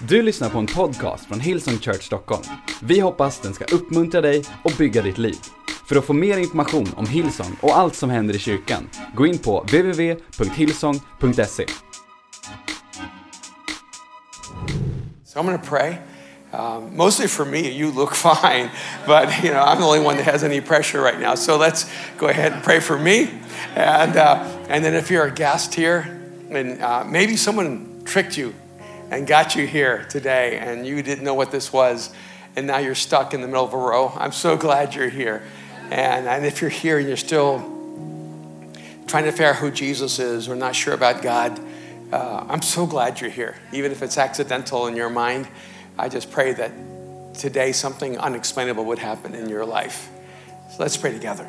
Du lyssnar på en podcast från Hillsong Church Stockholm. Vi hoppas den ska uppmuntra dig och bygga ditt liv. För att få mer information om Hillsong och allt som händer i kyrkan, gå in på www.hillsong.se. So I'm going to pray. Mostly for me, you look fine, but I'm the only one that has any pressure right now. So let's go ahead and pray for me, and then if you're a guest here, and maybe someone tricked you and got you here today, and you didn't know what this was, and now you're stuck in the middle of a row. I'm so glad you're here, and if you're here and you're still trying to figure out who Jesus is or not sure about God, I'm so glad you're here, even if it's accidental in your mind. I just pray that today something unexplainable would happen in your life. So let's pray together.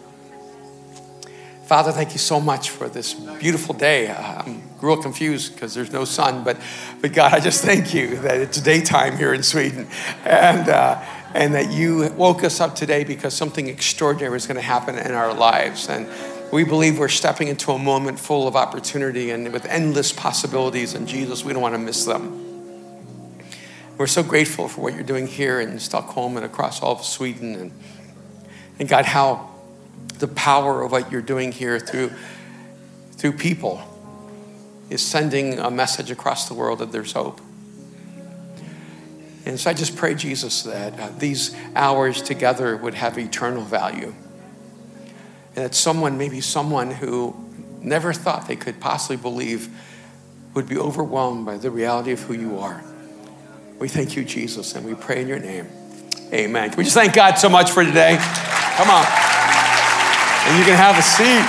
Father, thank you so much for this beautiful day. I'm real confused because there's no sun, but God, I just thank you that it's daytime here in Sweden, and that you woke us up today because something extraordinary is going to happen in our lives. And we believe we're stepping into a moment full of opportunity and with endless possibilities, and Jesus, we don't want to miss them. We're so grateful for what you're doing here in Stockholm and across all of Sweden. And God, how the power of what you're doing here through people is sending a message across the world that there's hope. And so I just pray, Jesus, that these hours together would have eternal value. And that maybe someone who never thought they could possibly believe would be overwhelmed by the reality of who you are. We thank you, Jesus, and we pray in your name. Amen. Can we just thank God so much for today? Come on. And you can have a seat.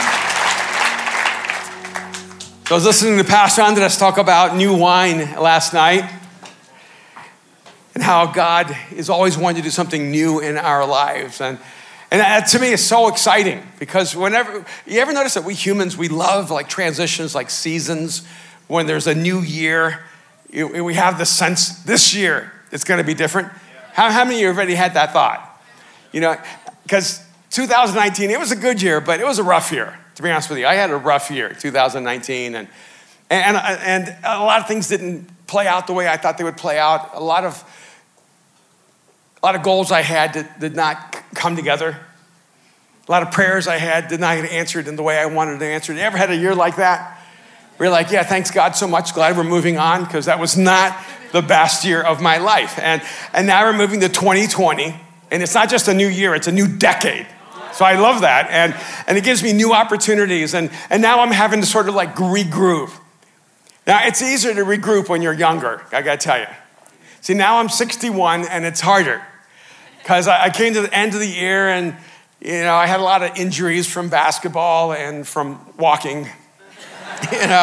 So I was listening to Pastor Andres talk about new wine last night and how God is always wanting to do something new in our lives. And that to me is so exciting because whenever, you ever notice that we humans, we love like transitions, like seasons. When there's a new year, we have the sense this year it's going to be different. How many of you have already had that thought? Because 2019, it was a good year, but it was a rough year, to be honest with you. I had a rough year, 2019, and a lot of things didn't play out the way I thought they would play out. A lot of goals I had did not come together. A lot of prayers I had did not get answered in the way I wanted to answer. You ever had a year like that? We're like, yeah, thanks God so much. Glad we're moving on because that was not the best year of my life. And now we're moving to 2020, and it's not just a new year, it's a new decade. So I love that, and it gives me new opportunities, and now I'm having to sort of like regroup. Now, it's easier to regroup when you're younger, I gotta tell you. See, now I'm 61, and it's harder because I came to the end of the year, and I had a lot of injuries from basketball and from walking. And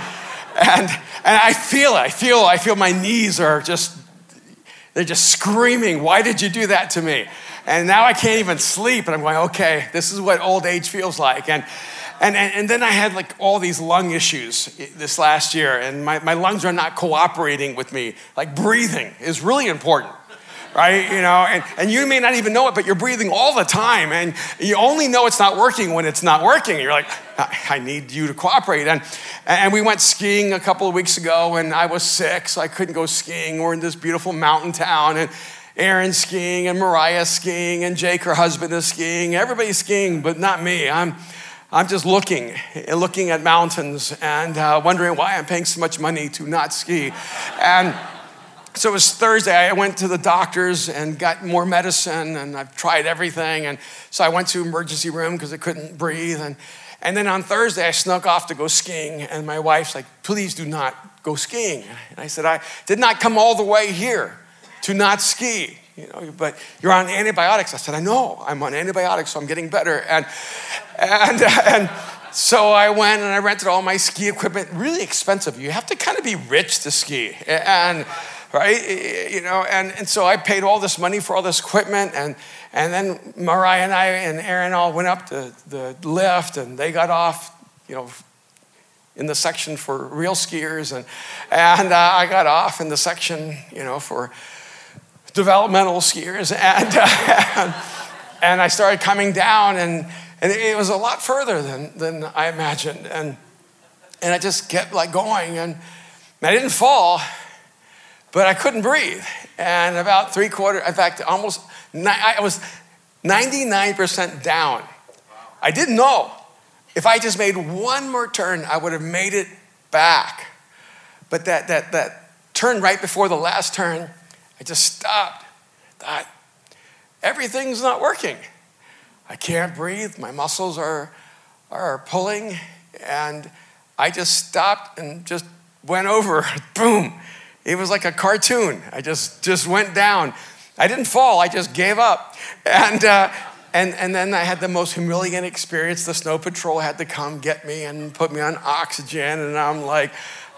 I feel my knees are they're just screaming, why did you do that to me? And now I can't even sleep, and I'm going, okay, this is what old age feels like. And then I had like all these lung issues this last year, and my lungs are not cooperating with me. Like breathing is really important. Right, and you may not even know it, but you're breathing all the time, and you only know it's not working when it's not working. You're like, I need you to cooperate. And we went skiing a couple of weeks ago, and I was sick, so I couldn't go skiing. We're in this beautiful mountain town, and Aaron's skiing, and Mariah's skiing, and Jake, her husband, is skiing. Everybody's skiing, but not me. I'm just looking at mountains and wondering why I'm paying so much money to not ski. So it was Thursday, I went to the doctors and got more medicine, and I've tried everything. And so I went to emergency room because I couldn't breathe. And then on Thursday, I snuck off to go skiing. And my wife's like, please do not go skiing. And I said, I did not come all the way here to not ski, but you're on antibiotics. I said, I know, I'm on antibiotics, so I'm getting better. And so I went and I rented all my ski equipment, really expensive. You have to kind of be rich to ski. Right, and so I paid all this money for all this equipment, and then Mariah and I and Aaron all went up to the lift, and they got off, in the section for real skiers, and I got off in the section, for developmental skiers, and I started coming down, and it was a lot further than I imagined, and I just kept like going, and I didn't fall. but I couldn't breathe. And about 3/4, in fact, I was 99% down. I didn't know. If I just made one more turn, I would have made it back. But that turn right before the last turn, I just stopped. Thought, everything's not working. I can't breathe. My muscles are pulling. And I just stopped and just went over. Boom. It was like a cartoon. I just went down. I didn't fall. I just gave up. And then I had the most humiliating experience. The snow patrol had to come get me and put me on oxygen. And I'm like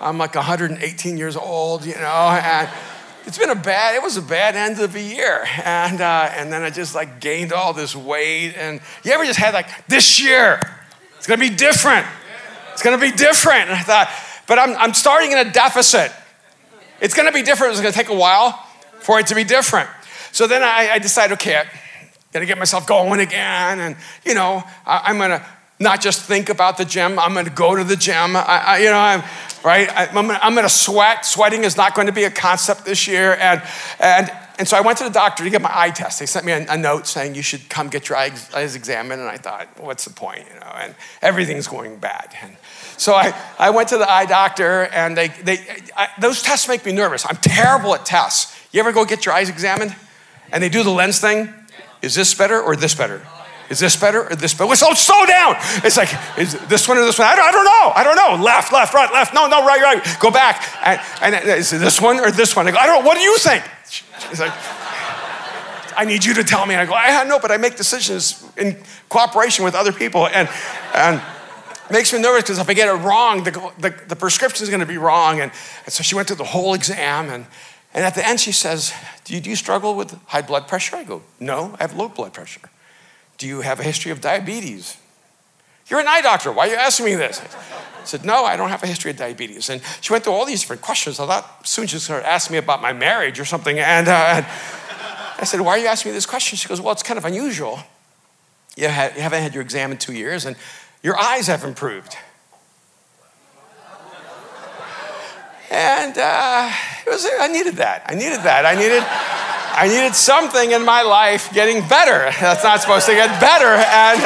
118 years old, you know. And it was a bad end of the year. And then I just like gained all this weight. And you ever just had like, this year, it's gonna be different. It's gonna be different. And I thought, but I'm starting in a deficit. It's gonna be different. It's gonna take a while for it to be different. So then I decided, okay, I gotta get myself going again. And you know, I'm gonna not just think about the gym. I'm gonna go to the gym. I'm gonna sweat. Sweating is not going to be a concept this year. And so I went to the doctor to get my eye test. They sent me a note saying you should come get your eyes examined. And I thought, what's the point, you know? And everything's going bad. And so I went to the eye doctor, and those tests make me nervous. I'm terrible at tests. You ever go get your eyes examined? And they do the lens thing. Is this better or this better? Is this better or this better? So slow down. It's like, is this one or this one? I don't know. Left, right, left. No, right. Go back. And is it this one or this one? I go, I don't know. What do you think? It's like, I need you to tell me. And I go, I know, but I make decisions in cooperation with other people. And it makes me nervous because if I get it wrong, the prescription is going to be wrong. And so she went through the whole exam. And at the end, she says, do you struggle with high blood pressure? I go, no, I have low blood pressure. Do you have a history of diabetes? You're an eye doctor. Why are you asking me this? I said, no, I don't have a history of diabetes. And she went through all these different questions. I thought soon she's going to ask me about my marriage or something. And I said, why are you asking me this question? She goes, well, it's kind of unusual. You haven't had your exam in 2 years, and your eyes have improved. And I needed that. I needed something in my life getting better. That's not supposed to get better. And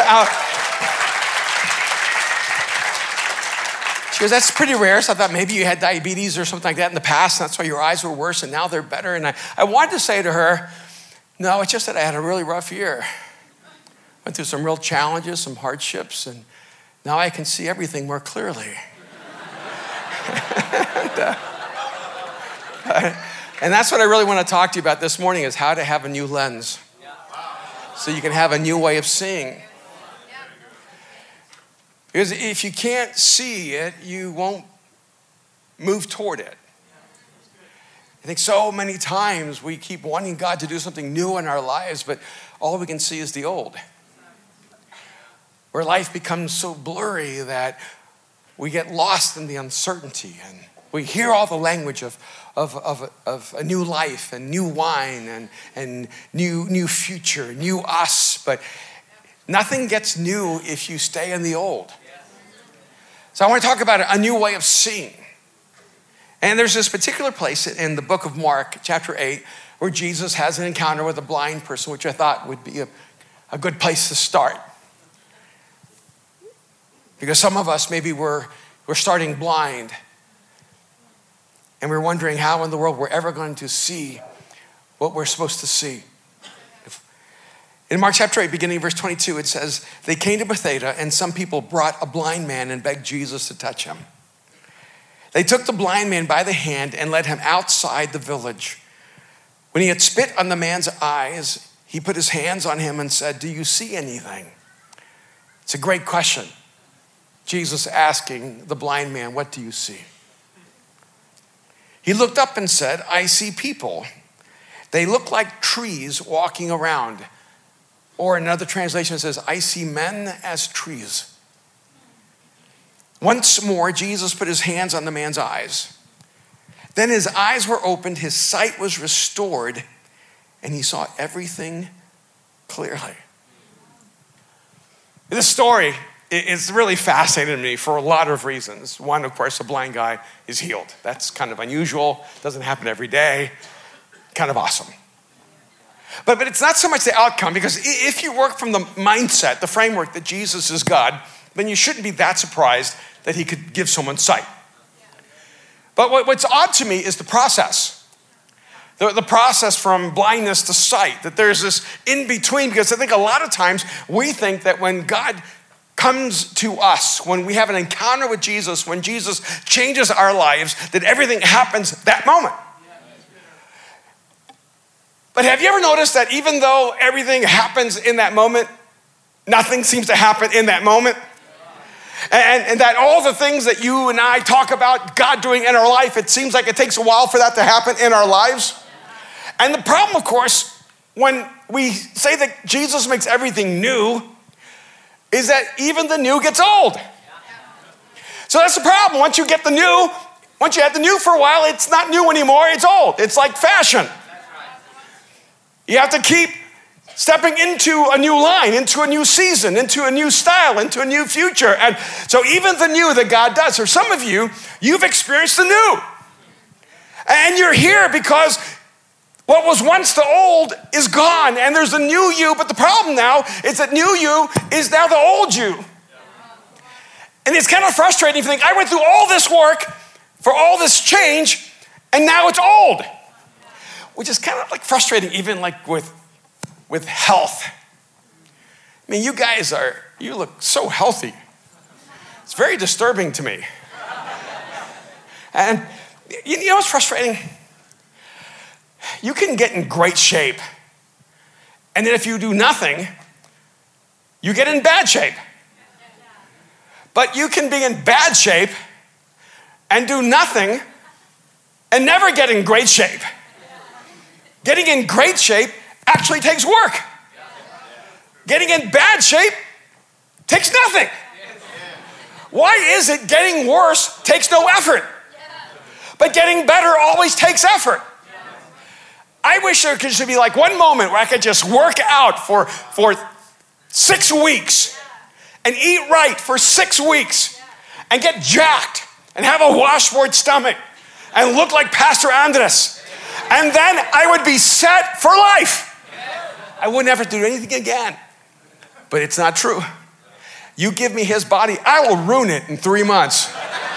she goes, that's pretty rare. So I thought maybe you had diabetes or something like that in the past. And that's why your eyes were worse and now they're better. And I wanted to say to her, no, it's just that I had a really rough year. Went through some real challenges, some hardships. And now I can see everything more clearly. And that's what I really want to talk to you about this morning is how to have a new lens. So you can have a new way of seeing. Because if you can't see it, you won't move toward it. I think so many times we keep wanting God to do something new in our lives, but all we can see is the old. Where life becomes so blurry that we get lost in the uncertainty, and we hear all the language of a new life and new wine and new future, new us, but nothing gets new if you stay in the old. So I want to talk about a new way of seeing. And there's this particular place in the book of Mark, chapter 8, where Jesus has an encounter with a blind person, which I thought would be a good place to start. Because some of us, maybe we're starting blind. And we're wondering how in the world we're ever going to see what we're supposed to see. In Mark chapter 8, beginning of verse 22, it says, they came to Bethsaida, and some people brought a blind man and begged Jesus to touch him. They took the blind man by the hand and led him outside the village. When he had spit on the man's eyes, he put his hands on him and said, do you see anything? It's a great question. Jesus asking the blind man, what do you see? He looked up and said, I see people. They look like trees walking around. Or another translation says, I see men as trees. Once more, Jesus put his hands on the man's eyes. Then his eyes were opened, his sight was restored, and he saw everything clearly. This story it's really fascinating to me for a lot of reasons. One, of course, a blind guy is healed. That's kind of unusual. Doesn't happen every day. Kind of awesome. But it's not so much the outcome, because if you work from the mindset, the framework that Jesus is God, then you shouldn't be that surprised that he could give someone sight. But what's odd to me is the process. The process from blindness to sight, that there's this in between, because I think a lot of times we think that when God comes to us, when we have an encounter with Jesus, when Jesus changes our lives, that everything happens that moment. But have you ever noticed that even though everything happens in that moment, nothing seems to happen in that moment? And that all the things that you and I talk about God doing in our life, it seems like it takes a while for that to happen in our lives. And the problem, of course, when we say that Jesus makes everything new, is that even the new gets old. So that's the problem. Once you have the new for a while, it's not new anymore, it's old. It's like fashion. You have to keep stepping into a new line, into a new season, into a new style, into a new future. And so even the new that God does, for some of you, you've experienced the new. And you're here because what was once the old is gone, and there's a new you, but the problem now is that new you is now the old you. And it's kind of frustrating to think, I went through all this work for all this change, and now it's old. Which is kind of like frustrating, even like with health. I mean, you look so healthy. It's very disturbing to me. And you know what's frustrating? You can get in great shape, and then if you do nothing, you get in bad shape. But you can be in bad shape and do nothing and never get in great shape. Getting in great shape actually takes work. Getting in bad shape takes nothing. Why is it getting worse takes no effort, but getting better always takes effort? I wish there could be like one moment where I could just work out for 6 weeks and eat right for 6 weeks and get jacked and have a washboard stomach and look like Pastor Andres. And then I would be set for life. I wouldn't have to do anything again. But it's not true. You give me his body, I will ruin it in 3 months.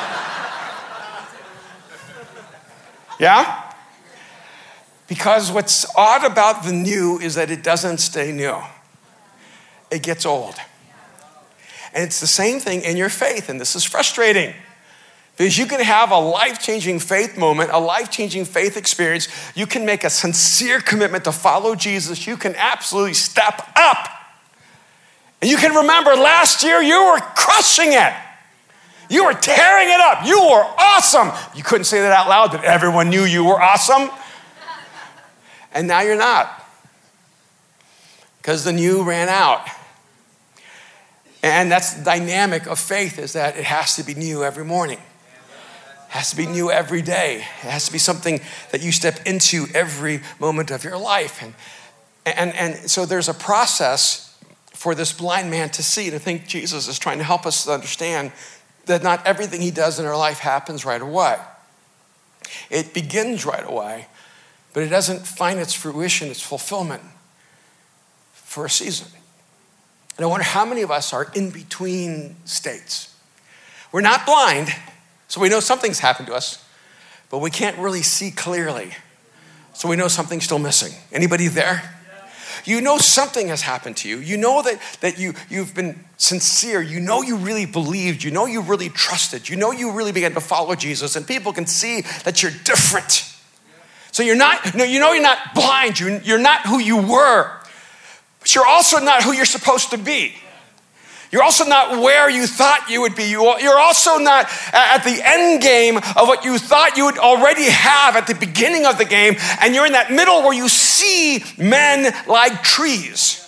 Yeah? Because what's odd about the new is that it doesn't stay new. It gets old. And it's the same thing in your faith, and this is frustrating. Because you can have a life-changing faith moment, a life-changing faith experience. You can make a sincere commitment to follow Jesus. You can absolutely step up. And you can remember last year you were crushing it. You were tearing it up. You were awesome. You couldn't say that out loud, but everyone knew you were awesome. And now you're not. Because the new ran out. And that's the dynamic of faith, is that it has to be new every morning. It has to be new every day. It has to be something that you step into every moment of your life. And so there's a process for this blind man to see. And I think Jesus is trying to help us to understand that not everything he does in our life happens right away. It begins right away, but it doesn't find its fruition, its fulfillment for a season. And I wonder how many of us are in between states. We're not blind, so we know something's happened to us, but we can't really see clearly. So we know something's still missing. Anybody there? You know something has happened to you. You know that you've been sincere. You know you really believed. You know you really trusted. You know you really began to follow Jesus, and people can see that you're different. So you're not blind. You're not who you were. But you're also not who you're supposed to be. You're also not where you thought you would be. You're also not at the end game of what you thought you would already have at the beginning of the game. And you're in that middle where you see men like trees.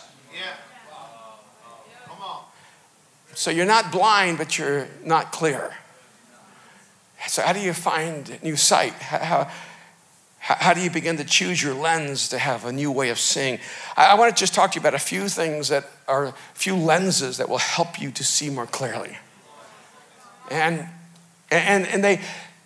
Come on. So you're not blind, but you're not clear. So how do you find new sight? How How do you begin to choose your lens to have a new way of seeing? I want to just talk to you about a few things that are, a few lenses that will help you to see more clearly. And they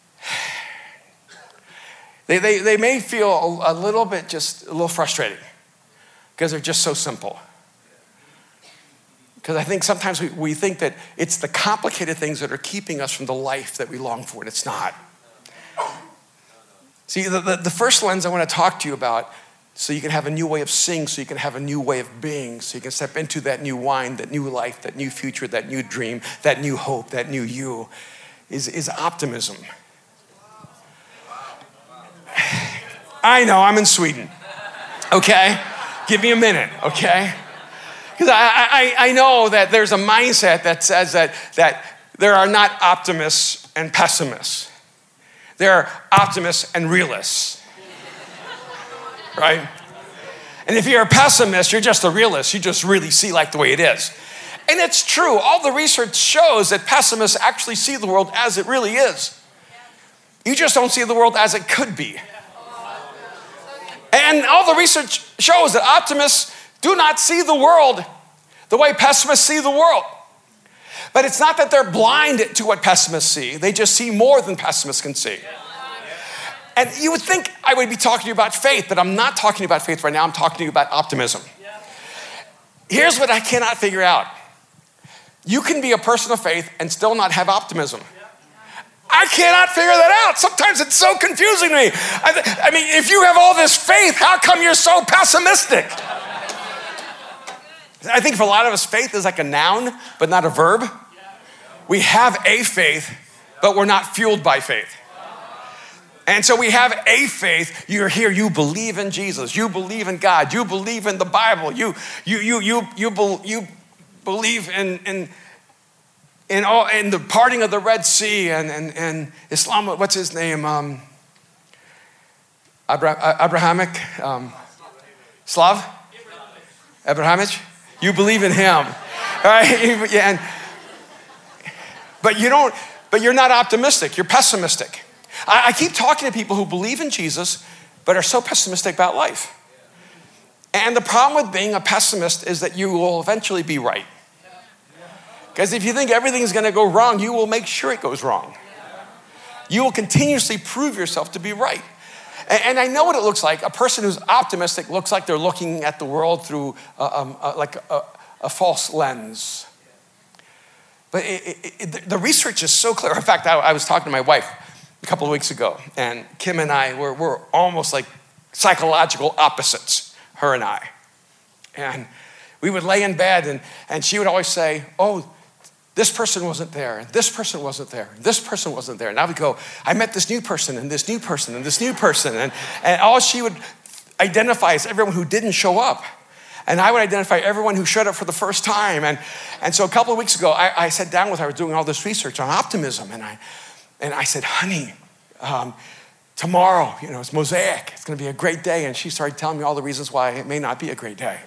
may feel a little bit, just a little frustrating because they're just so simple. Because I think sometimes we think that it's the complicated things that are keeping us from the life that we long for, and it's not. See, the first lens I want to talk to you about, so you can have a new way of seeing, so you can have a new way of being, so you can step into that new wine, that new life, that new future, that new dream, that new hope, that new you, is optimism. I know, I'm in Sweden, okay? Give me a minute, okay? Because I know that there's a mindset that says that there are not optimists and pessimists. There are optimists and realists, right? And if you're a pessimist, you're just a realist. You just really see like the way it is. And it's true. All the research shows that pessimists actually see the world as it really is. You just don't see the world as it could be. And all the research shows that optimists do not see the world the way pessimists see the world. But it's not that they're blind to what pessimists see. They just see more than pessimists can see. And you would think I would be talking to you about faith, but I'm not talking about faith right now. I'm talking to you about optimism. Here's what I cannot figure out. You can be a person of faith and still not have optimism. I cannot figure that out. Sometimes it's so confusing to me. I mean, if you have all this faith, how come you're so pessimistic? I think for a lot of us, faith is like a noun, but not a verb. We have a faith, but we're not fueled by faith. And so we have a faith. You're here. You believe in Jesus. You believe in God. You believe in the Bible. You believe in the parting of the Red Sea and Islam. What's his name? Abrahamic. Slav. Abrahamic. You believe in him, right? But you're not optimistic. You're pessimistic. I keep talking to people who believe in Jesus, but are so pessimistic about life. And the problem with being a pessimist is that you will eventually be right. Because if you think everything's going to go wrong, you will make sure it goes wrong. You will continuously prove yourself to be right. And I know what it looks like. A person who's optimistic looks like they're looking at the world through a false lens. But the research is so clear. In fact, I was talking to my wife a couple of weeks ago, and Kim and I we're almost like psychological opposites, her and I. And we would lay in bed, and she would always say, oh, this person wasn't there, and this person wasn't there, and this person wasn't there. And I would go, I met this new person, and this new person, and this new person. And all she would identify is everyone who didn't show up. And I would identify everyone who showed up for the first time. And so a couple of weeks ago, I sat down with her. I was doing all this research on optimism. And I said, honey, tomorrow, it's Mosaic. It's going to be a great day. And she started telling me all the reasons why it may not be a great day.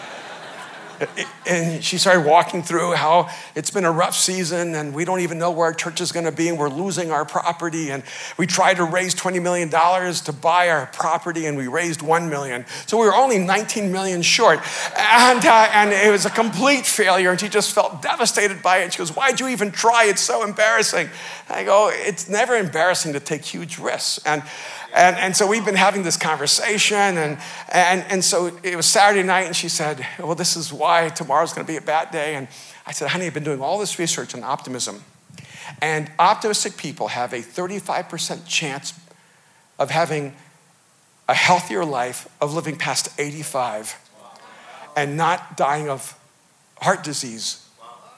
And she started walking through how it's been a rough season and we don't even know where our church is going to be and we're losing our property. And we tried to raise $20 million to buy our property and we raised $1 million. So we were only $19 million short. And it was a complete failure. And she just felt devastated by it. And she goes, why'd you even try? It's so embarrassing. And I go, it's never embarrassing to take huge risks. And so we've been having this conversation, and so it was Saturday night, and she said, well, this is why tomorrow's going to be a bad day. And I said, honey, I've been doing all this research on optimism, and optimistic people have a 35% chance of having a healthier life, of living past 85, and not dying of heart disease.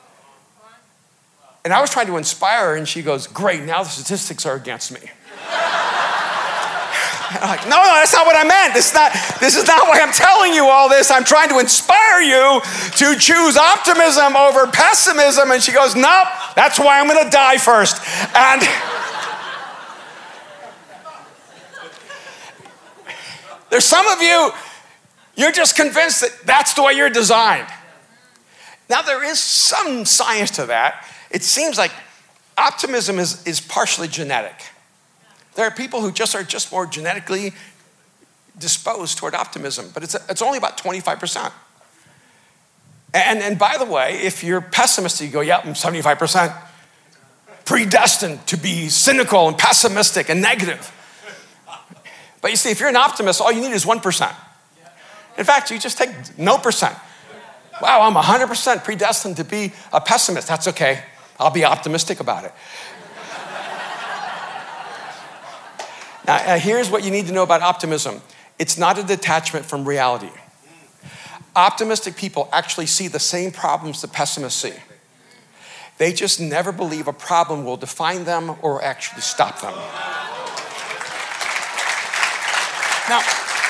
And I was trying to inspire her, and she goes, great, now the statistics are against me. I'm like, no, that's not what I meant. This is not why I'm telling you all this. I'm trying to inspire you to choose optimism over pessimism. And she goes, nope, that's why I'm going to die first. And there's some of you, you're just convinced that that's the way you're designed. Now, there is some science to that. It seems like optimism is partially genetic. There are people who are just more genetically disposed toward optimism, but it's only about 25%. And by the way, if you're pessimistic, you go, yeah, I'm 75%. Predestined to be cynical and pessimistic and negative. But you see, if you're an optimist, all you need is 1%. In fact, you just take no percent. Wow, I'm 100% predestined to be a pessimist. That's okay. I'll be optimistic about it. Now, here's what you need to know about optimism. It's not a detachment from reality. Optimistic people actually see the same problems that pessimists see. They just never believe a problem will define them or actually stop them. Now,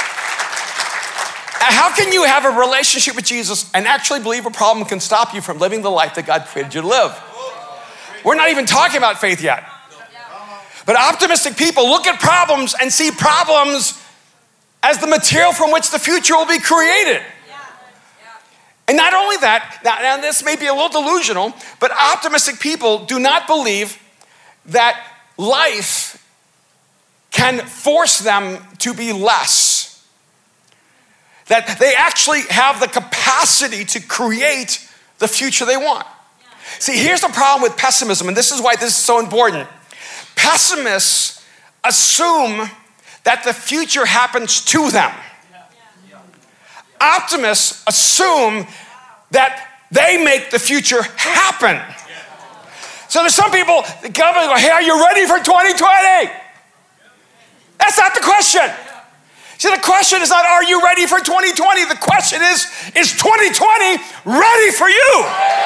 how can you have a relationship with Jesus and actually believe a problem can stop you from living the life that God created you to live? We're not even talking about faith yet. But optimistic people look at problems and see problems as the material from which the future will be created. And not only that, now this may be a little delusional, but optimistic people do not believe that life can force them to be less. That they actually have the capacity to create the future they want. See, here's the problem with pessimism, and this is why this is so important. Pessimists assume that the future happens to them. Optimists assume that they make the future happen. So there's some people that come and go, hey, are you ready for 2020? That's not the question. See, the question is not, are you ready for 2020? The question is 2020 ready for you?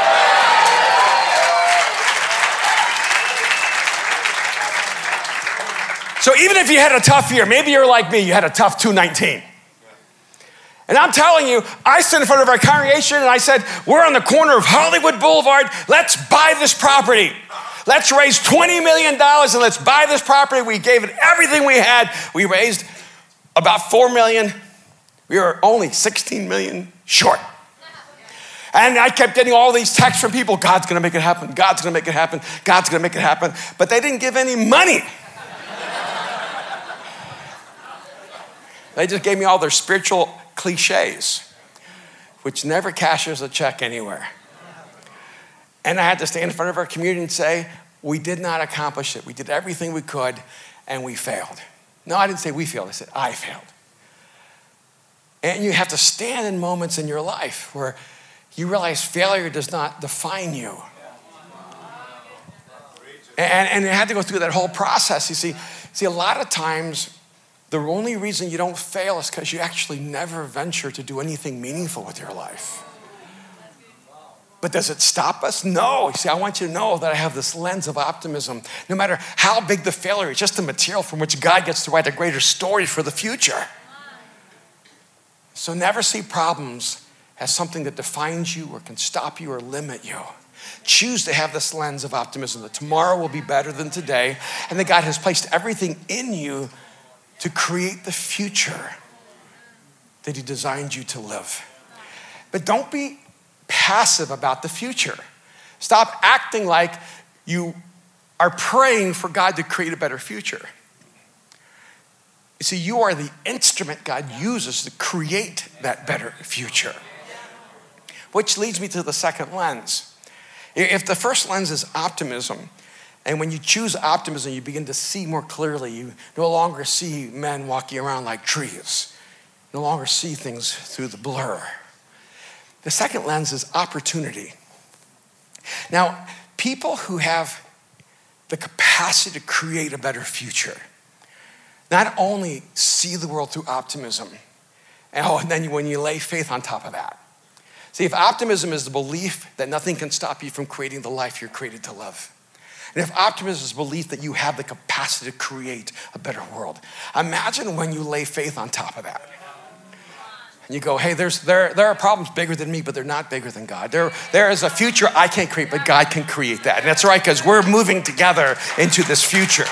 So even if you had a tough year, maybe you're like me, you had a tough 2019. And I'm telling you, I stood in front of our congregation and I said, we're on the corner of Hollywood Boulevard. Let's buy this property. Let's raise $20 million and let's buy this property. We gave it everything we had. We raised about $4 million. We were only 16 million short. And I kept getting all these texts from people, God's gonna make it happen. God's gonna make it happen. God's gonna make it happen. But they didn't give any money. They just gave me all their spiritual cliches, which never cashes a check anywhere. And I had to stand in front of our community and say, we did not accomplish it. We did everything we could and we failed. No, I didn't say we failed. I said I failed. And you have to stand in moments in your life where you realize failure does not define you. And you had to go through that whole process. You see, a lot of times, the only reason you don't fail is because you actually never venture to do anything meaningful with your life. But does it stop us? No. You see, I want you to know that I have this lens of optimism. No matter how big the failure, it's just the material from which God gets to write a greater story for the future. So never see problems as something that defines you or can stop you or limit you. Choose to have this lens of optimism that tomorrow will be better than today and that God has placed everything in you to create the future that he designed you to live. But don't be passive about the future. Stop acting like you are praying for God to create a better future. You see, you are the instrument God uses to create that better future. Which leads me to the second lens. If the first lens is optimism, and when you choose optimism, you begin to see more clearly. You no longer see men walking around like trees. No longer see things through the blur. The second lens is opportunity. Now, people who have the capacity to create a better future not only see the world through optimism, and then when you lay faith on top of that. See, if optimism is the belief that nothing can stop you from creating the life you're created to live, and if optimism is belief that you have the capacity to create a better world, imagine when you lay faith on top of that. And you go, hey, there are problems bigger than me, but they're not bigger than God. There is a future I can't create, but God can create that. And that's right, because we're moving together into this future.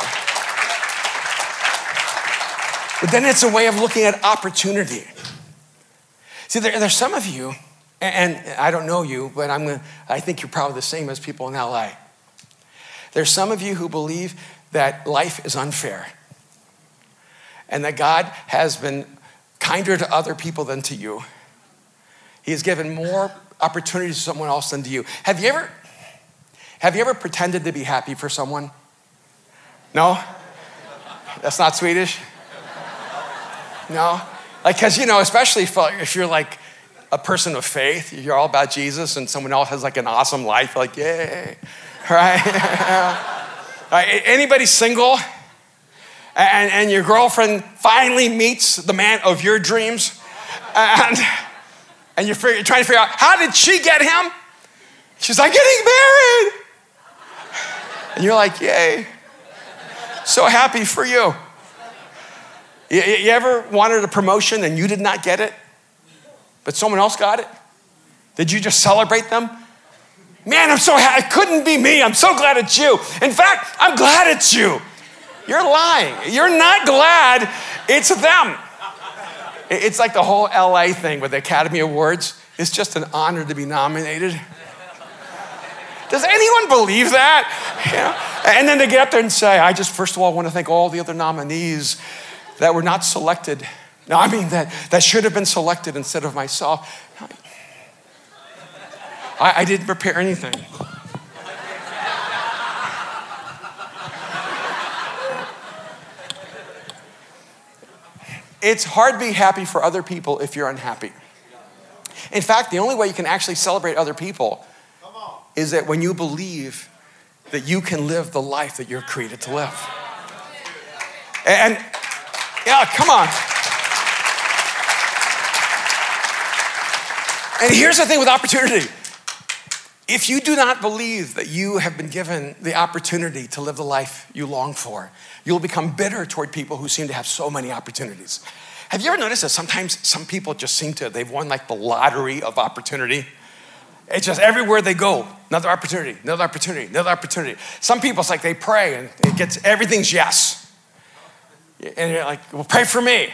But then it's a way of looking at opportunity. See, there's some of you, and I don't know you, but I think you're probably the same as people in LA. There's some of you who believe that life is unfair and that God has been kinder to other people than to you. He has given more opportunities to someone else than to you. Have you ever pretended to be happy for someone? No? That's not Swedish? No? Like, because, especially if you're like a person of faith, you're all about Jesus, and someone else has like an awesome life, like, yay, right? Right? Anybody single? And your girlfriend finally meets the man of your dreams, and you're trying to figure out, how did she get him? She's like, getting married. And you're like, yay. So happy for you. You ever wanted a promotion and you did not get it, but someone else got it? Did you just celebrate them? Man, I'm so happy. It couldn't be me. I'm so glad it's you. In fact, I'm glad it's you. You're lying. You're not glad it's them. It's like the whole LA thing with the Academy Awards. It's just an honor to be nominated. Does anyone believe that? And then they get up there and say, I just first of all want to thank all the other nominees that were not selected. No, I mean that should have been selected instead of myself. I didn't prepare anything. It's hard to be happy for other people if you're unhappy. In fact, the only way you can actually celebrate other people is that when you believe that you can live the life that you're created to live. And yeah, come on. And here's the thing with opportunity. If you do not believe that you have been given the opportunity to live the life you long for, you'll become bitter toward people who seem to have so many opportunities. Have you ever noticed that sometimes some people just they've won like the lottery of opportunity? It's just everywhere they go, another opportunity, another opportunity, another opportunity. Some people, it's like they pray and everything's yes. And you're like, well, pray for me.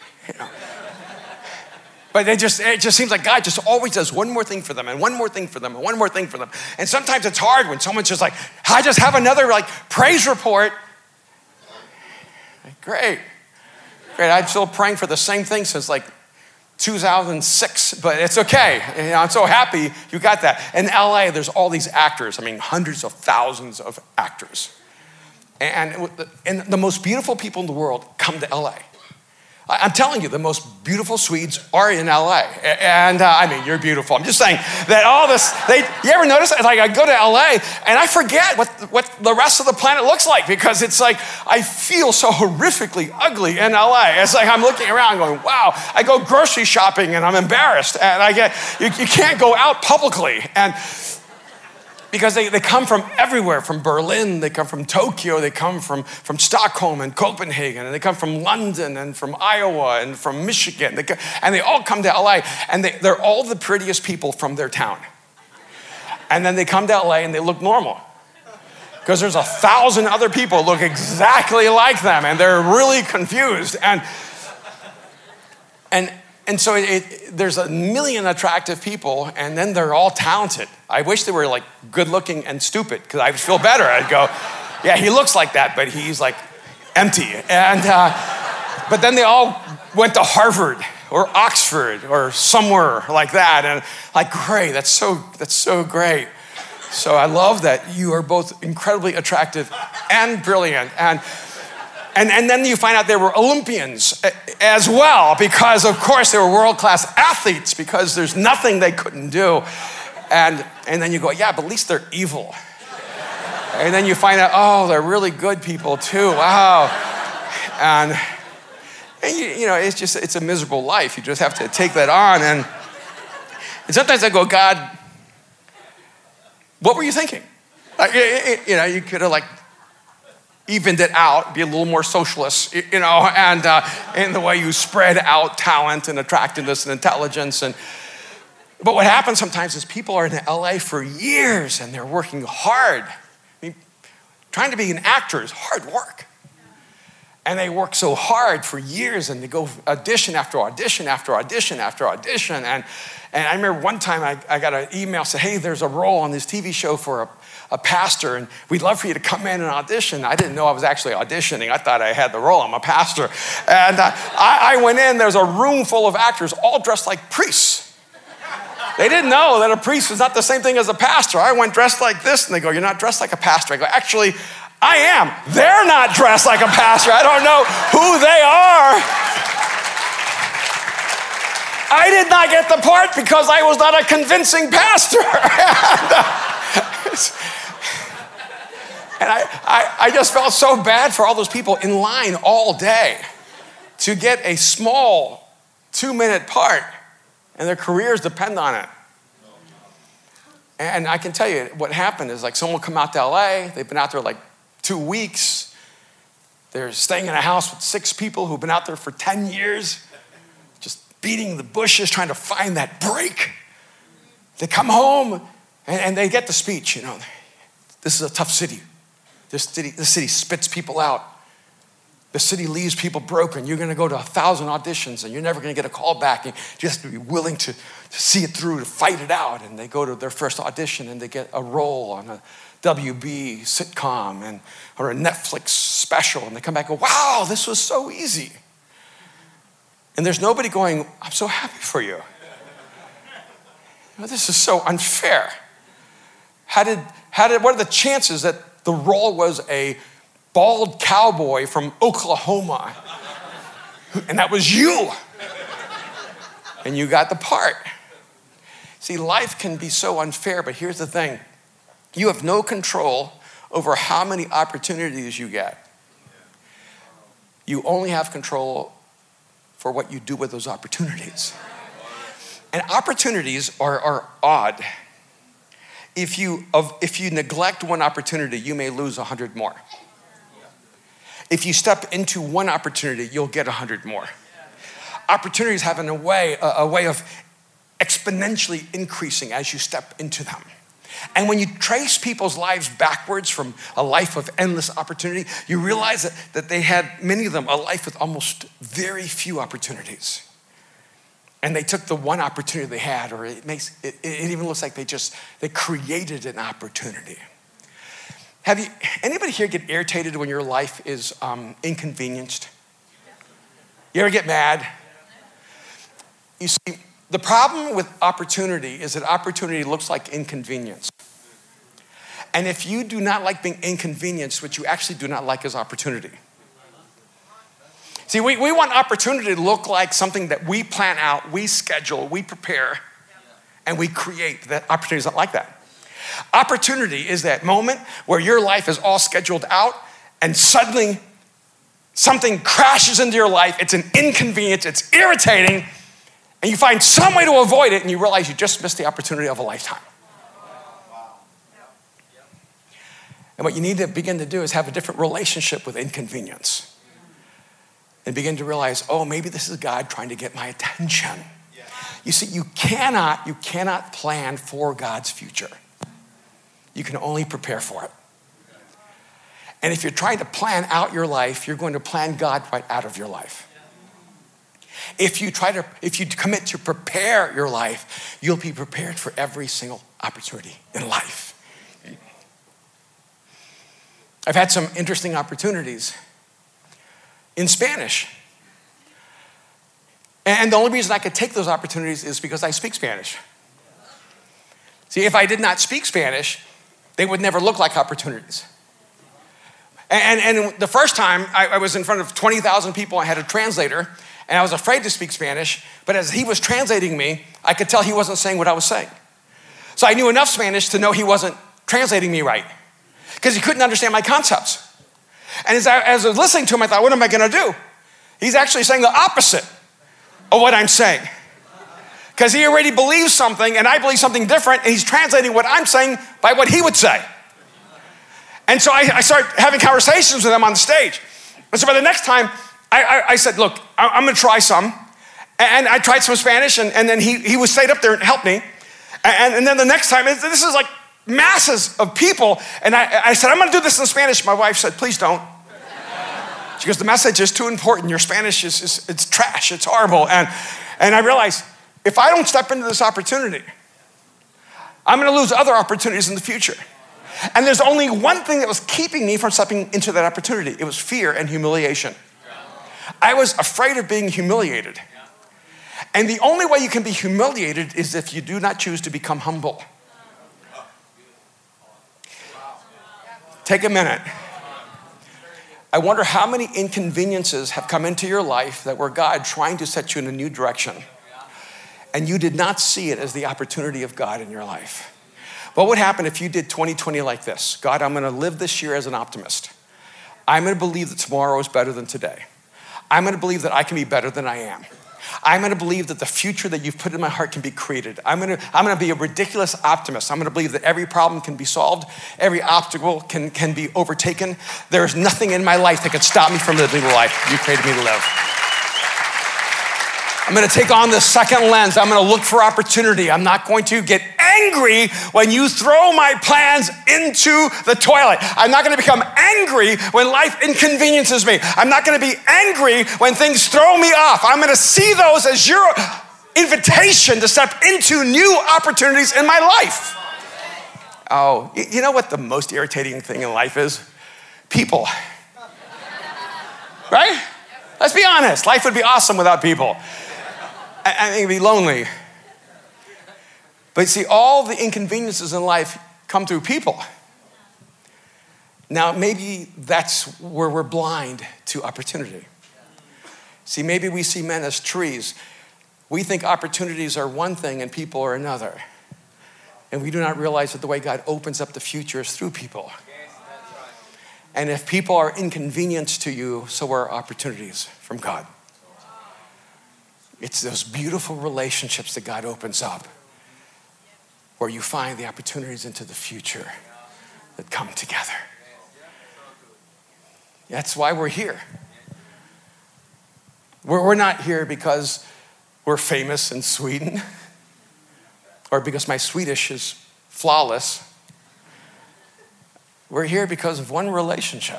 But it just seems like God just always does one more thing for them and one more thing for them and one more thing for them. And sometimes it's hard when someone's just like, I just have another like praise report. Like, great. I'm still praying for the same thing since like 2006, but it's okay. I'm so happy you got that. In LA, there's all these actors. I mean, hundreds of thousands of actors. And the most beautiful people in the world come to LA. I'm telling you, the most beautiful Swedes are in LA. And I mean, you're beautiful. I'm just saying that all this, you ever notice, like I go to LA and I forget what the rest of the planet looks like because it's like, I feel so horrifically ugly in LA. It's like I'm looking around going, wow, I go grocery shopping and I'm embarrassed. And you can't go out publicly. And because they come from everywhere, from Berlin, they come from Tokyo, they come from Stockholm and Copenhagen, and they come from London and from Iowa and from Michigan. And they all come to LA, and they're all the prettiest people from their town. And then they come to LA and they look normal. Because there's 1,000 other people who look exactly like them, and they're really confused. And so there's a million attractive people, and then they're all talented. I wish they were like good looking and stupid, because I would feel better. I'd go, yeah, he looks like that, but he's like empty. And but then they all went to Harvard or Oxford or somewhere like that, and like, great, that's so great. So I love that you are both incredibly attractive and brilliant. And then you find out they were Olympians as well, because of course they were world-class athletes, because there's nothing they couldn't do. And then you go, yeah, but at least they're evil. And then you find out, oh, they're really good people too, wow. And you know, it's a miserable life. You just have to take that on. And sometimes I go, God, what were you thinking? You know, you could have like evened it out, be a little more socialist, you know, and in the way you spread out talent and attractiveness and intelligence. But what happens sometimes is people are in LA for years and they're working hard. I mean, trying to be an actor is hard work. And they work so hard for years, and they go audition after audition after audition after audition. And I remember one time I got an email saying, hey, there's a role on this TV show for a pastor, and we'd love for you to come in and audition. I didn't know I was actually auditioning. I thought I had the role. I'm a pastor. And I went in. There's a room full of actors all dressed like priests. They didn't know that a priest was not the same thing as a pastor. I went dressed like this, and they go, you're not dressed like a pastor. I go, actually, I am. They're not dressed like a pastor. I don't know who they are. I did not get the part because I was not a convincing pastor. And I just felt so bad for all those people in line all day to get a small 2-minute part, and their careers depend on it. And I can tell you what happened is, like, someone will come out to LA. They've been out there like 2 weeks. They're staying in a house with 6 people who've been out there for 10 years, just beating the bushes, trying to find that break. They come home and they get the speech, this is a tough city. This city spits people out. The city leaves people broken. You're going to go to 1,000 auditions, and you're never going to get a call back. You just have to be willing to see it through, to fight it out. And they go to their first audition, and they get a role on a WB sitcom or a Netflix special. And they come back and go, wow, this was so easy. And there's nobody going, I'm so happy for you. This is so unfair. What are the chances that the role was a bald cowboy from Oklahoma, and that was you, and you got the part? See, life can be so unfair, but here's the thing. You have no control over how many opportunities you get. You only have control for what you do with those opportunities. And opportunities are odd. If you neglect one opportunity, you may lose 100 more. If you step into one opportunity, you'll get 100 more. Opportunities have a way of exponentially increasing as you step into them. And when you trace people's lives backwards from a life of endless opportunity, you realize that they had, many of them, a life with almost very few opportunities. And they took the one opportunity they had, or it even looks like they created an opportunity. Anybody here get irritated when your life is inconvenienced? You ever get mad? You see, the problem with opportunity is that opportunity looks like inconvenience. And if you do not like being inconvenienced, what you actually do not like is opportunity. See, we want opportunity to look like something that we plan out, we schedule, we prepare, and we create. That opportunity is not like that. Opportunity is that moment where your life is all scheduled out, and suddenly something crashes into your life. It's an inconvenience, it's irritating, and you find some way to avoid it, and you realize you just missed the opportunity of a lifetime. And what you need to begin to do is have a different relationship with inconvenience. And begin to realize, oh, maybe this is God trying to get my attention. You see, you cannot plan for God's future. You can only prepare for it. And if you're trying to plan out your life, you're going to plan God right out of your life. If you commit to prepare your life, you'll be prepared for every single opportunity in life. I've had some interesting opportunities in Spanish. And the only reason I could take those opportunities is because I speak Spanish. See, if I did not speak Spanish, they would never look like opportunities. And the first time I was in front of 20,000 people, I had a translator, and I was afraid to speak Spanish, but as he was translating me, I could tell he wasn't saying what I was saying. So I knew enough Spanish to know he wasn't translating me right, because he couldn't understand my concepts. And as I was listening to him, I thought, what am I gonna do? He's actually saying the opposite of what I'm saying. Because he already believes something, and I believe something different, and he's translating what I'm saying by what he would say. And so I started having conversations with him on the stage. And so by the next time, I said, look, I'm gonna try some. And I tried some Spanish, and then he would stay up there and help me. And then the next time, this is like masses of people. And I said, I'm gonna do this in Spanish. My wife said, please don't. She goes, the message is too important. Your Spanish is it's trash. It's horrible. And I realized if I don't step into this opportunity, I'm going to lose other opportunities in the future. And there's only one thing that was keeping me from stepping into that opportunity. It was fear and humiliation. I was afraid of being humiliated. And the only way you can be humiliated is if you do not choose to become humble. Take a minute. I wonder how many inconveniences have come into your life that were God trying to set you in a new direction. And you did not see it as the opportunity of God in your life. What would happen if you did 2020 like this? God, I'm going to live this year as an optimist. I'm going to believe that tomorrow is better than today. I'm going to believe that I can be better than I am. I'm going to believe that the future that you've put in my heart can be created. I'm going to be a ridiculous optimist. I'm going to believe that every problem can be solved. Every obstacle can be overtaken. There's nothing in my life that can stop me from living the life you created me to live. I'm going to take on this second lens. I'm going to look for opportunity. I'm not going to get angry when you throw my plans into the toilet. I'm not going to become angry when life inconveniences me. I'm not going to be angry when things throw me off. I'm going to see those as your invitation to step into new opportunities in my life. Oh, you know what the most irritating thing in life is? People. Right? Let's be honest. Life would be awesome without people. I think it'd be lonely. But see, all the inconveniences in life come through people. Now, maybe that's where we're blind to opportunity. See, maybe we see men as trees. We think opportunities are one thing and people are another. And we do not realize that the way God opens up the future is through people. And if people are inconvenienced to you, so are opportunities from God. It's those beautiful relationships that God opens up where you find the opportunities into the future that come together. That's why we're here. We're not here because we're famous in Sweden or because my Swedish is flawless. We're here because of one relationship.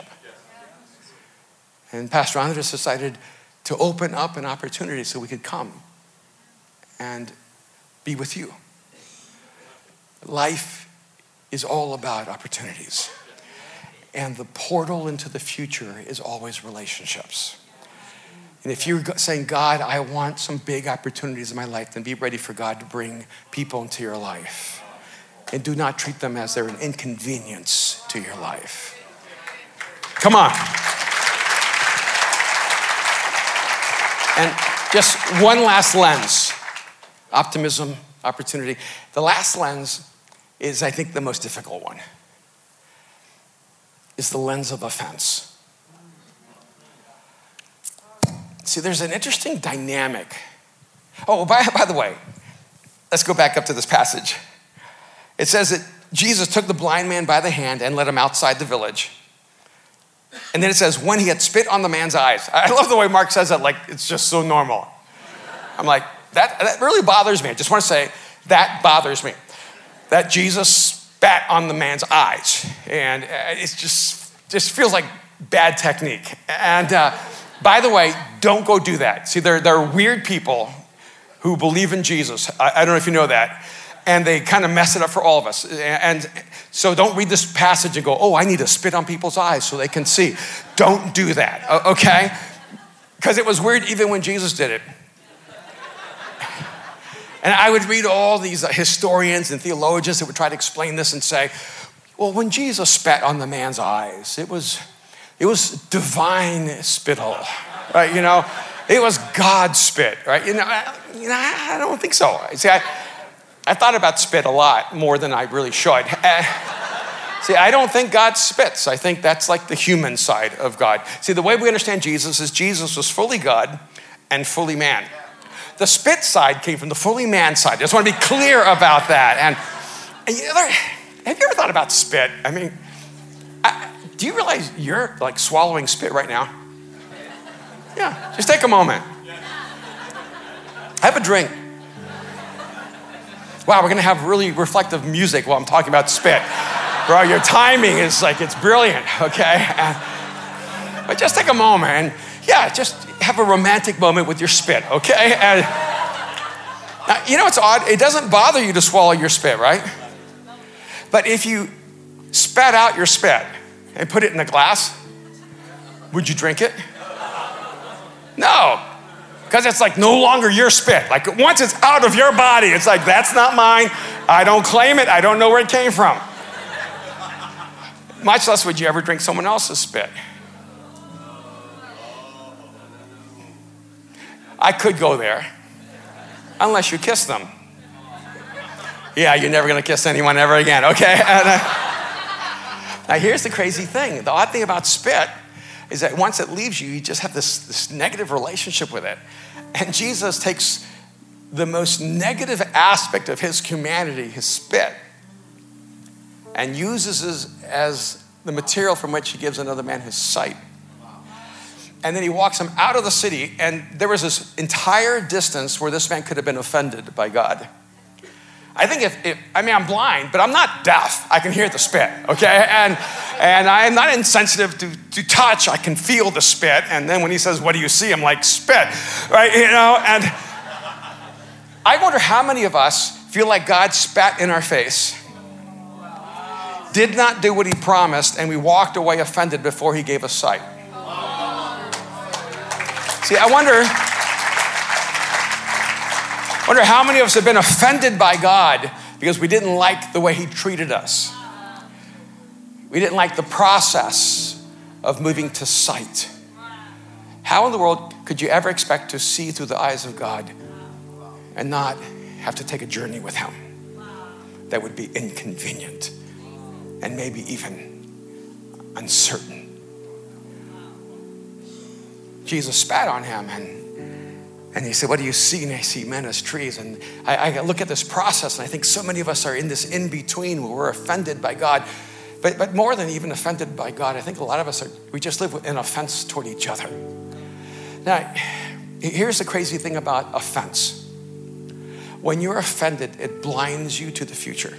And Pastor Andres decided to open up an opportunity so we could come and be with you. Life is all about opportunities. And the portal into the future is always relationships. And if you're saying, God, I want some big opportunities in my life, then be ready for God to bring people into your life. And do not treat them as they're an inconvenience to your life. Come on. And just one last lens, optimism, opportunity. The last lens is, I think, the most difficult one. It's the lens of offense. See, there's an interesting dynamic. Oh, by the way, let's go back up to this passage. It says that Jesus took the blind man by the hand and led him outside the village. And then it says, when he had spit on the man's eyes. I love the way Mark says that, like it's just so normal. I'm like, that really bothers me. I just want to say, that bothers me. That Jesus spat on the man's eyes. And it just feels like bad technique. And by the way, don't go do that. See, there are weird people who believe in Jesus. I don't know if you know that. And they kind of mess it up for all of us. And so don't read this passage and go, oh, I need to spit on people's eyes so they can see. Don't do that, okay? Because it was weird even when Jesus did it. And I would read all these historians and theologians that would try to explain this and say, well, when Jesus spat on the man's eyes, it was divine spittle, right? You know, it was God's spit, right? You know, I don't think so. See, I thought about spit a lot more than I really should. See, I don't think God spits. I think that's like the human side of God. See, the way we understand Jesus is Jesus was fully God and fully man. The spit side came from the fully man side. I just want to be clear about that. And have you ever thought about spit? I mean, do you realize you're like swallowing spit right now? Yeah, just take a moment. Have a drink. Wow, we're gonna have really reflective music while I'm talking about spit. Bro, your timing is like, it's brilliant, okay? But just take a moment and, just have a romantic moment with your spit, okay? And now, you know what's odd? It doesn't bother you to swallow your spit, right? But if you spat out your spit and put it in a glass, would you drink it? No, because it's like no longer your spit. Like once it's out of your body, it's like, that's not mine. I don't claim it. I don't know where it came from. Much less would you ever drink someone else's spit. I could go there, unless you kiss them. Yeah, you're never going to kiss anyone ever again, okay? And, now here's the crazy thing. The odd thing about spit is that once it leaves you, you just have this negative relationship with it. And Jesus takes the most negative aspect of his humanity, his spit, and uses it as the material from which he gives another man his sight. And then he walks him out of the city, and there was this entire distance where this man could have been offended by God. I think I'm blind, but I'm not deaf. I can hear the spit, okay? And I'm not insensitive to touch. I can feel the spit. And then when he says, what do you see? I'm like, spit, right? And I wonder how many of us feel like God spat in our face, did not do what he promised, and we walked away offended before he gave us sight. See, I wonder how many of us have been offended by God because we didn't like the way he treated us. We didn't like the process of moving to sight. How in the world could you ever expect to see through the eyes of God and not have to take a journey with him that would be inconvenient and maybe even uncertain? Jesus spat on him and he said, what do you see? And I see men as trees. And I look at this process, and I think so many of us are in this in-between where we're offended by God. But more than even offended by God, I think a lot of us we just live with an offense toward each other. Now, here's the crazy thing about offense. When you're offended, it blinds you to the future.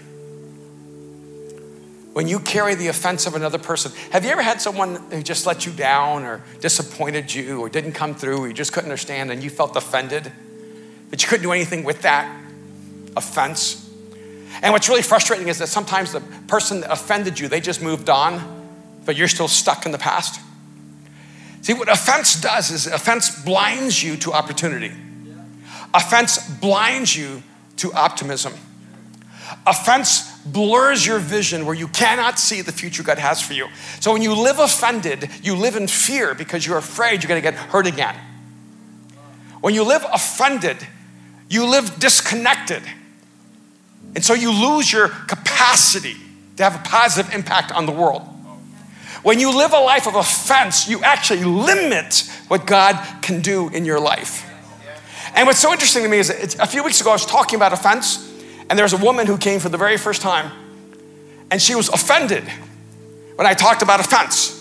When you carry the offense of another person, have you ever had someone who just let you down or disappointed you or didn't come through or you just couldn't understand and you felt offended, but you couldn't do anything with that offense? And what's really frustrating is that sometimes the person that offended you, they just moved on, but you're still stuck in the past. See, what offense does is offense blinds you to opportunity. Offense blinds you to optimism. Offense blurs your vision where you cannot see the future God has for you. So when you live offended, you live in fear because you're afraid you're going to get hurt again. When you live offended, you live disconnected. And so you lose your capacity to have a positive impact on the world. When you live a life of offense, you actually limit what God can do in your life. And what's so interesting to me is that a few weeks ago I was talking about offense, and there was a woman who came for the very first time, and she was offended when I talked about offense.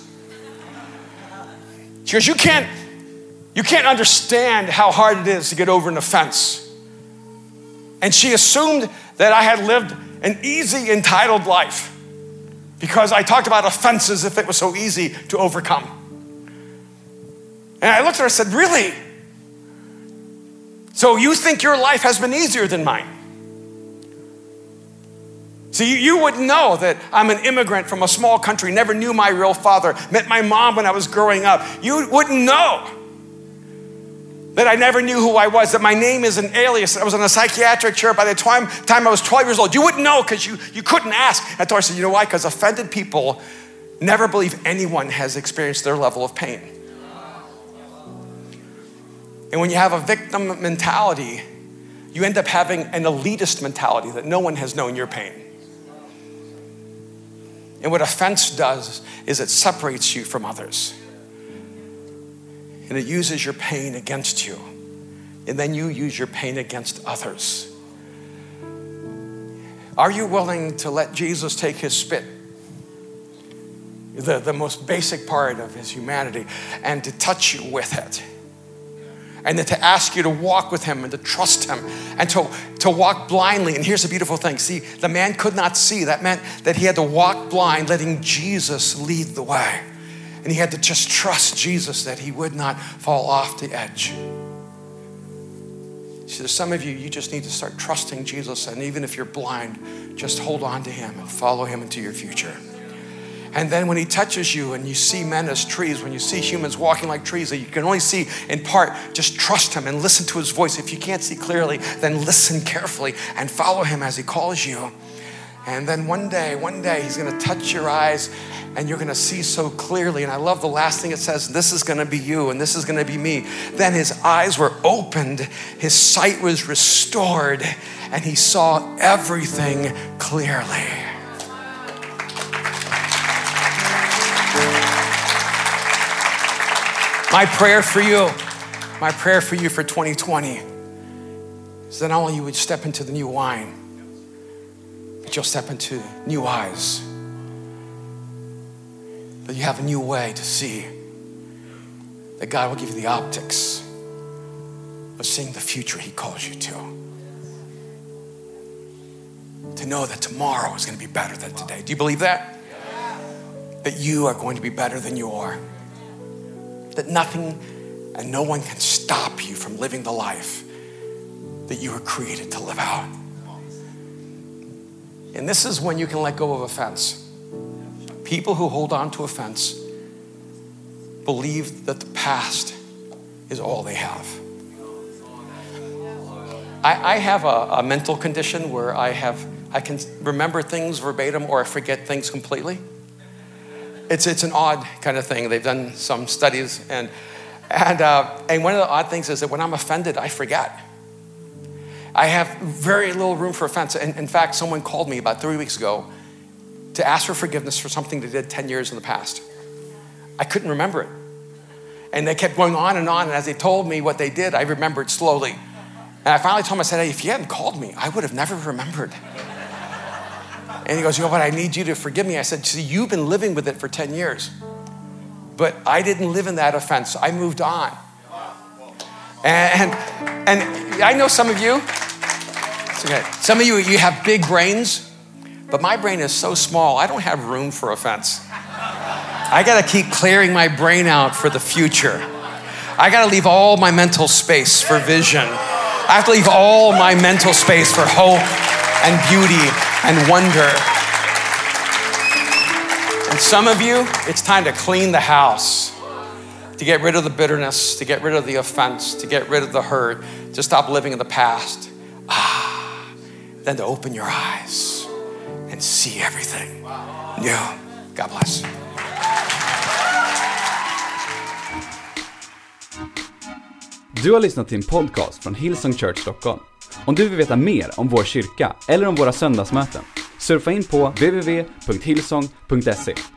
She goes, you can't understand how hard it is to get over an offense. And she assumed that I had lived an easy, entitled life because I talked about offenses as if it was so easy to overcome. And I looked at her and said, really? So you think your life has been easier than mine? See, you wouldn't know that I'm an immigrant from a small country, never knew my real father, met my mom when I was growing up. You wouldn't know that I never knew who I was, that my name is an alias, that I was in a psychiatric chair by the time I was 12 years old. You wouldn't know because you couldn't ask. I told her, I said, you know why? Because offended people never believe anyone has experienced their level of pain. And when you have a victim mentality, you end up having an elitist mentality that no one has known your pain. And what offense does is it separates you from others. And it uses your pain against you. And then you use your pain against others. Are you willing to let Jesus take his spit, the most basic part of his humanity, and to touch you with it? And then to ask you to walk with him and to trust him and to walk blindly. And here's the beautiful thing. See, the man could not see. That meant that he had to walk blind, letting Jesus lead the way. And he had to just trust Jesus that he would not fall off the edge. See, there's some of you, you just need to start trusting Jesus. And even if you're blind, just hold on to him and follow him into your future. And then when he touches you and you see men as trees, when you see humans walking like trees that you can only see in part, just trust him and listen to his voice. If you can't see clearly, then listen carefully and follow him as he calls you. And then one day, he's going to touch your eyes and you're going to see so clearly. And I love the last thing it says, this is going to be you and this is going to be me. Then his eyes were opened, his sight was restored, and he saw everything clearly. My prayer for you for 2020 is that not only you would step into the new wine, but you'll step into new eyes. That you have a new way to see. That God will give you the optics of seeing the future he calls you to. To know that tomorrow is going to be better than today. Do you believe that? That you are going to be better than you are. That nothing and no one can stop you from living the life that you were created to live out. And this is when you can let go of offense. People who hold on to offense believe that the past is all they have. I have a mental condition where I can remember things verbatim or I forget things completely. It's an odd kind of thing. They've done some studies, and one of the odd things is that when I'm offended, I forget. I have very little room for offense. And in fact, someone called me about 3 weeks ago to ask for forgiveness for something they did 10 years in the past. I couldn't remember it. And they kept going on, and as they told me what they did, I remembered slowly. And I finally told him, I said, hey, if you hadn't called me, I would have never remembered. And he goes, but I need you to forgive me. I said, see, you've been living with it for 10 years. But I didn't live in that offense. I moved on. And I know some of you, it's okay. Some of you have big brains, but my brain is so small, I don't have room for offense. I got to keep clearing my brain out for the future. I got to leave all my mental space for vision. I have to leave all my mental space for hope and beauty and wonder. And some of you, it's time to clean the house, to get rid of the bitterness, to get rid of the offense, to get rid of the hurt, to stop living in the past. Then to open your eyes and see everything new. God bless. Du har lyssnat till en podcast från Hillsong Church Stockholm. Om du vill veta mer om vår kyrka eller om våra söndagsmöten, surfa in på www.hillsong.se.